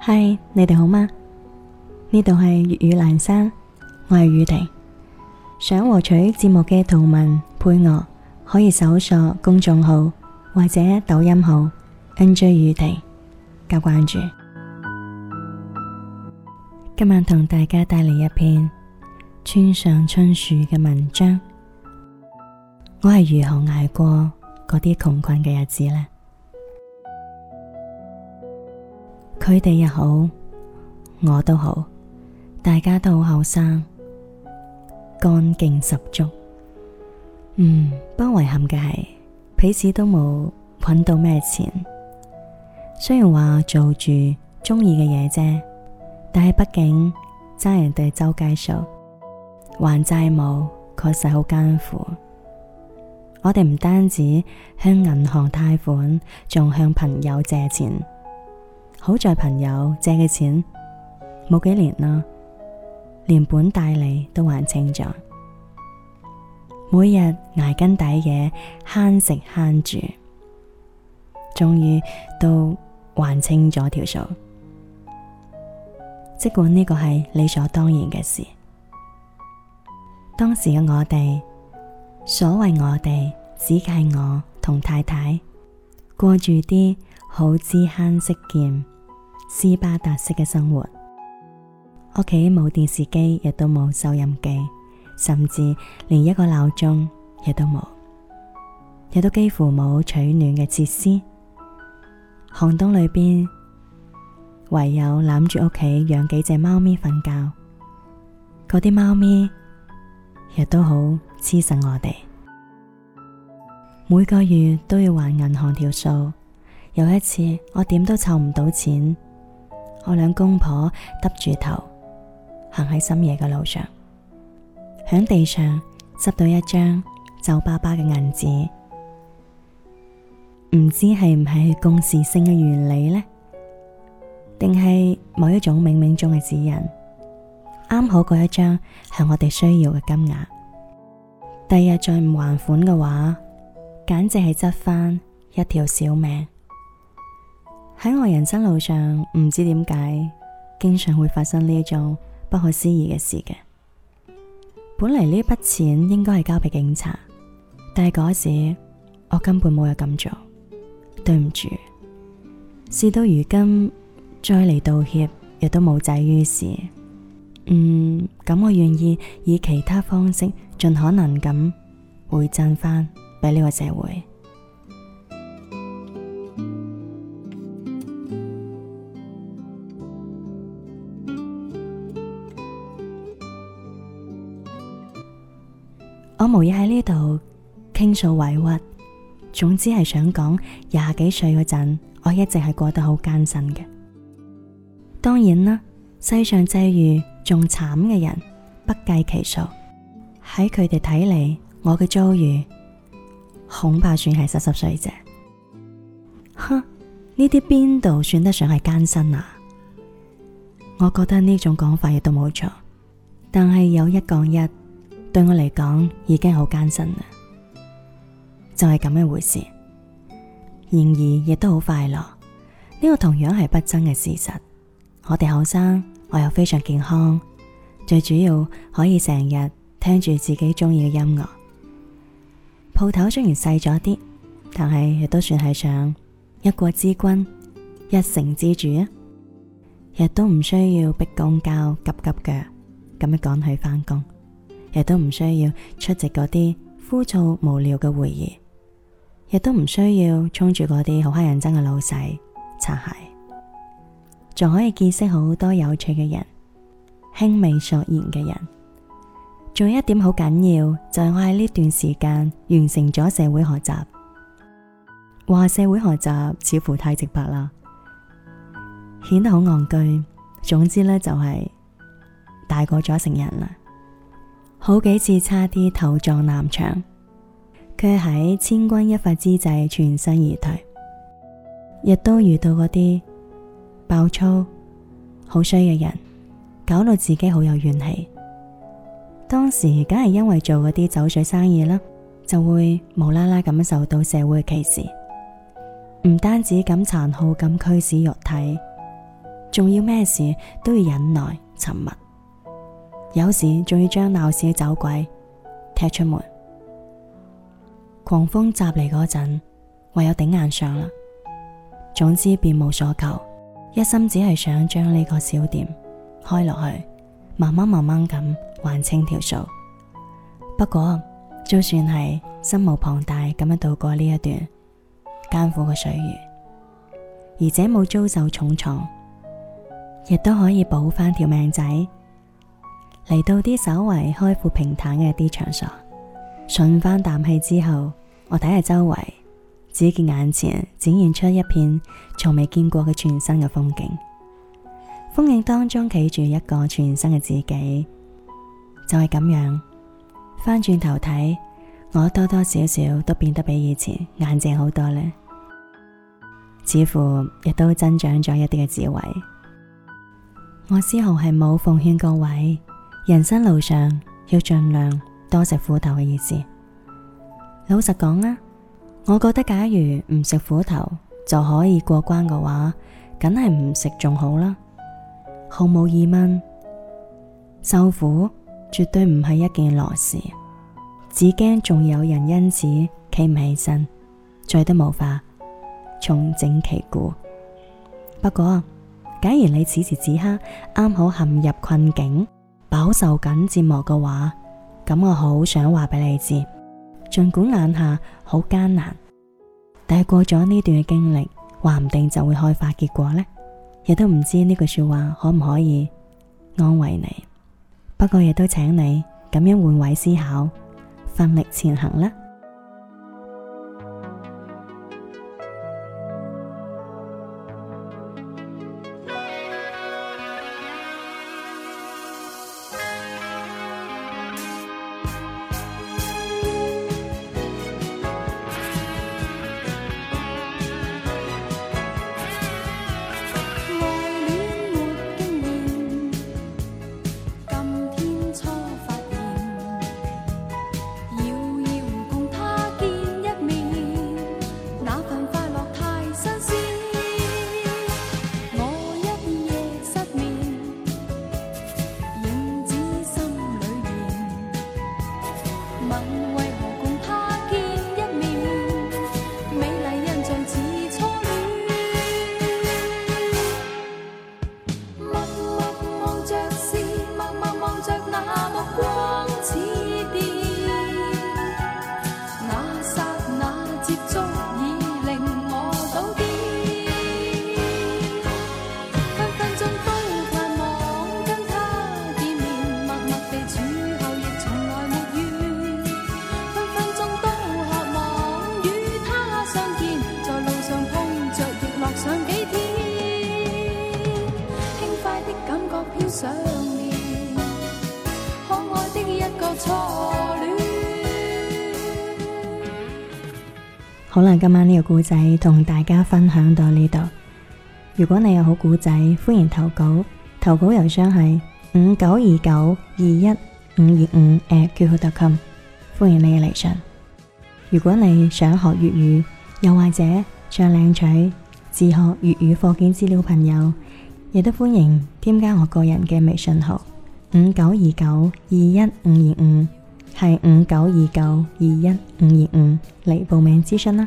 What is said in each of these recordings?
嗨，你哋好嗎？呢度係粵語蘭山，我係宇婷。想獲取節目嘅圖文配樂，可以搜索公眾號或者抖音號 NJ 宇婷加關注。今晚同大家帶嚟一篇村上春樹嘅文章。我係如何捱過嗰啲窮困嘅日子呢？佢哋又好，我都好，大家都好後生，幹勁十足。不過遺憾嘅係，彼此都冇搵到咩錢。雖然話做住鍾意嘅嘢啫，但係畢竟爭人哋周街數，還債務確實好艱苦。我哋唔單止向銀行貸款，仲向朋友借錢。好在朋友借嘅錢冇幾年啦，連本帶利都還清咗。每日捱更抵嘅慳食慳住，終於都還清咗條數。即管呢個係理所當然嘅事。當時嘅我哋，所謂我哋只係我同太太，過住啲好知慳識儉斯巴達式嘅生活。屋企冇電視機，亦都冇收音機，甚至連一個鬧鐘亦都冇，亦都幾乎冇取暖嘅設施。寒冬裏邊，唯有攬住屋企養幾隻貓咪瞓覺。嗰啲貓咪亦都好黐實我哋，每個月都要還銀行條數。有一次我點都湊唔到錢，我兩公婆耷住頭行喺深夜嘅路上，響地上執到一張皺巴巴嘅銀紙，唔知係唔係共時性嘅原理呢？定係某一種冥冥中嘅指引，啱好嗰一張係我哋需要嘅金額。第日再唔還款嘅話，簡直係執返一條小命。喺我人生路上，唔知點解經常會發生呢種不可思議嘅事嘅。本嚟呢筆錢應該係交俾警察，但係嗰時我根本冇有咁做，對唔住。事到如今再嚟道歉，亦都無濟於事。咁我願意以其他方式盡可能咁回贈返俾呢個社會。我無意喺呢度傾訴委屈，總之係想講廿幾歲嗰陣，我一直係過得好艱辛嘅。當然啦，世上際遇仲慘嘅人不計其數，喺佢哋睇嚟，我嘅遭遇恐怕算係濕碎啫。呢啲邊度算得上係艱辛啊？我覺得呢種講法亦都冇錯，但係有一講一，對我嚟講已經好艱辛啦，就係咁嘅回事。然而亦都好快樂，呢個同樣係不爭嘅事實。我哋後生，我又非常健康，最主要可以成日聽住自己中意嘅音樂。鋪頭雖然細咗啲，但係亦都算係上一國之君，一城之主啊！亦都唔需要逼公交急急腳咁樣趕去返工，亦都唔需要出席嗰啲枯燥無聊嘅會議，亦都唔需要衝住嗰啲好乞人憎嘅老細擦鞋，仲可以見識好多有趣嘅人，興味索然嘅人。仲有一點好緊要，就係我喺呢段時間完成咗社會學習。話社會學習似乎太直白啦，顯得好戇居。總之呢，就係大個咗成人啦。好幾次差啲頭撞南牆，卻喺千鈞一髮之際全身而退。亦都遇到嗰啲爆粗好衰嘅人，搞到自己好有怨氣。當時梗係因為做嗰啲酒水生意啦，就會無啦啦咁受到社會嘅歧視，唔單止咁殘酷咁驅使肉體， 仲要咩事都要忍耐沉默，有時仲要將鬧事嘅走鬼踢出門。狂風襲嚟嗰陣，唯有頂硬上啦。總之別無所求，一心只係想將呢個小店開落去，慢慢咁還清條數。不過就算係心無旁貸咁樣度過呢一段艱苦嘅歲月，而且冇遭受重創，亦都可以補翻條命仔，嚟到啲稍為開闊平坦嘅啲場所，順翻啖氣之後，我睇下周圍，只見眼前展現出一片從未見過嘅全新嘅風景。風景當中企住一個全新嘅自己，就係咁樣翻轉頭睇，我多多少少都變得比以前硬淨好多咧，似乎亦都增長咗一啲嘅智慧。我絲毫係冇奉勸各位人生路上要盡量多食苦頭嘅意思。老實講啊，我覺得假如唔食苦頭就可以過關嘅話，梗係唔食仲好啦。毫無疑問，受苦絕對唔係一件樂事，只驚仲有人因此企唔起身，再都無法重整旗鼓。不過假如你此時此刻啱好陷入困境，飽受緊折磨嘅話，咁我好想話俾你知，盡管眼下好艱難，但係過咗呢段嘅經歷，話唔定就會開花結果呢。亦都唔知呢句說話可唔可以安慰你，不過亦都請你咁樣換位思考，奮力前行啦。 想念可愛的一個初戀。 好啦，今晚呢個故仔同大家分享到呢度。如果你有好故仔，歡迎投稿，投稿郵箱係5929215525@qq.com，歡迎你嘅嚟信。如果你想學粵語，又或者想領取自學粵語課件資料，朋友亦都歡迎添加我個人嘅微信號5929215525，係5929215525嚟報名諮詢啦。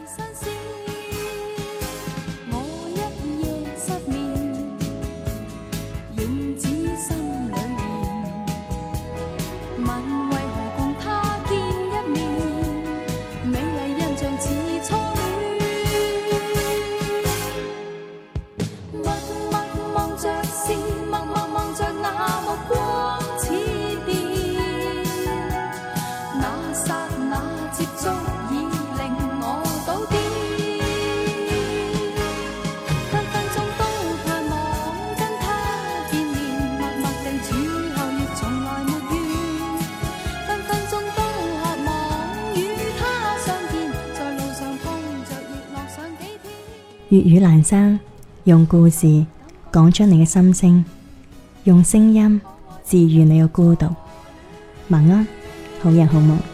粵語闌珊，用故事講出你嘅心聲，用聲音治愈你嘅孤獨。晚安，好人好夢。